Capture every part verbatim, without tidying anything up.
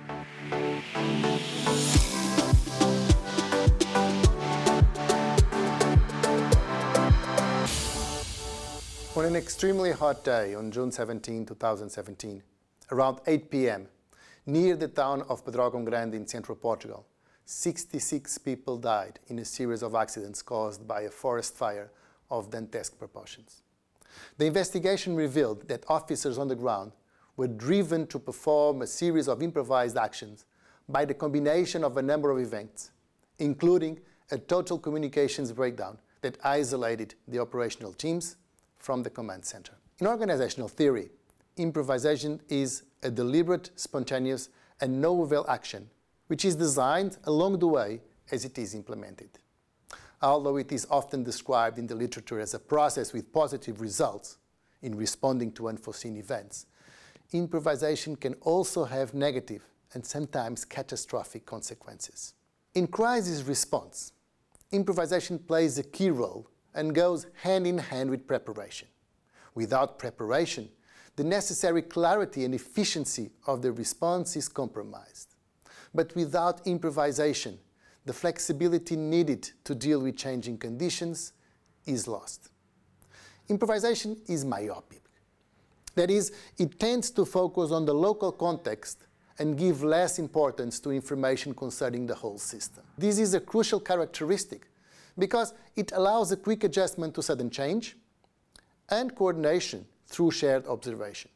On an extremely hot day on June seventeenth, two thousand seventeen, around eight p m, near the town of Pedrógão Grande in central Portugal, sixty-six people died in a series of accidents caused by a forest fire of dantesque proportions. The investigation revealed that officers on the ground were driven to perform a series of improvised actions by the combination of a number of events, including a total communications breakdown that isolated the operational teams from the command center. In organizational theory, improvisation is a deliberate, spontaneous, and novel action which is designed along the way as it is implemented. Although it is often described in the literature as a process with positive results in responding to unforeseen events, improvisation can also have negative and sometimes catastrophic consequences. In crisis response, improvisation plays a key role and goes hand in hand with preparation. Without preparation, the necessary clarity and efficiency of the response is compromised. But without improvisation, the flexibility needed to deal with changing conditions is lost. Improvisation is myopic. That is, it tends to focus on the local context and give less importance to information concerning the whole system. This is a crucial characteristic because it allows a quick adjustment to sudden change and coordination through shared observation.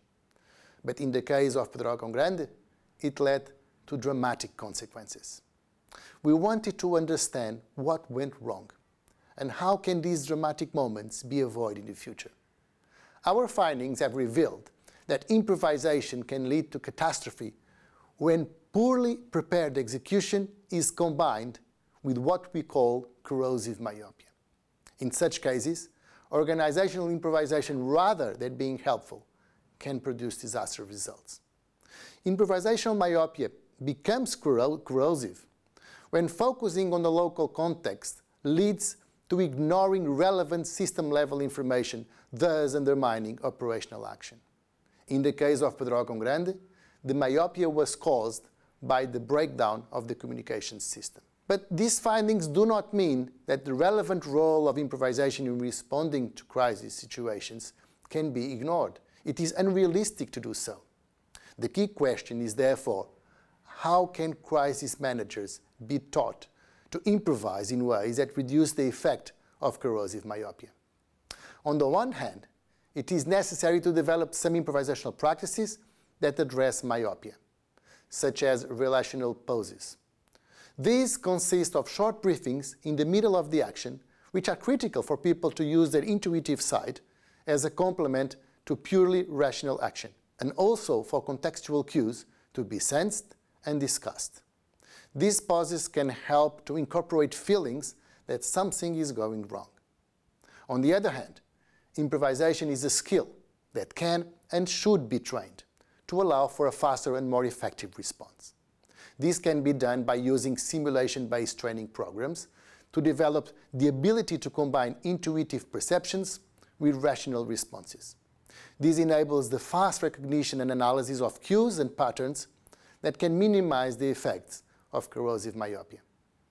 But in the case of Pedrógão Grande, it led to dramatic consequences. We wanted to understand what went wrong and how can these dramatic moments be avoided in the future. Our findings have revealed that improvisation can lead to catastrophe when poorly prepared execution is combined with what we call corrosive myopia. In such cases, organizational improvisation, rather than being helpful, can produce disaster results. Improvisational myopia becomes corro- corrosive when focusing on the local context leads to ignoring relevant system-level information, thus undermining operational action. In the case of Pedrógão Grande, the myopia was caused by the breakdown of the communications system. But these findings do not mean that the relevant role of improvisation in responding to crisis situations can be ignored. It is unrealistic to do so. The key question is therefore, how can crisis managers be taught to improvise in ways that reduce the effect of corrosive myopia? On the one hand, it is necessary to develop some improvisational practices that address myopia, such as relational poses. These consist of short briefings in the middle of the action, which are critical for people to use their intuitive side as a complement to purely rational action, and also for contextual cues to be sensed and discussed. These pauses can help to incorporate feelings that something is going wrong. On the other hand, improvisation is a skill that can and should be trained to allow for a faster and more effective response. This can be done by using simulation-based training programs to develop the ability to combine intuitive perceptions with rational responses. This enables the fast recognition and analysis of cues and patterns that can minimize the effects of corrosive myopia.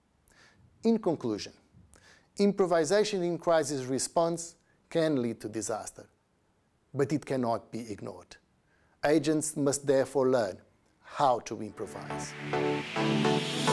In conclusion, improvisation in crisis response can lead to disaster, but it cannot be ignored. Agents must therefore learn how to improvise.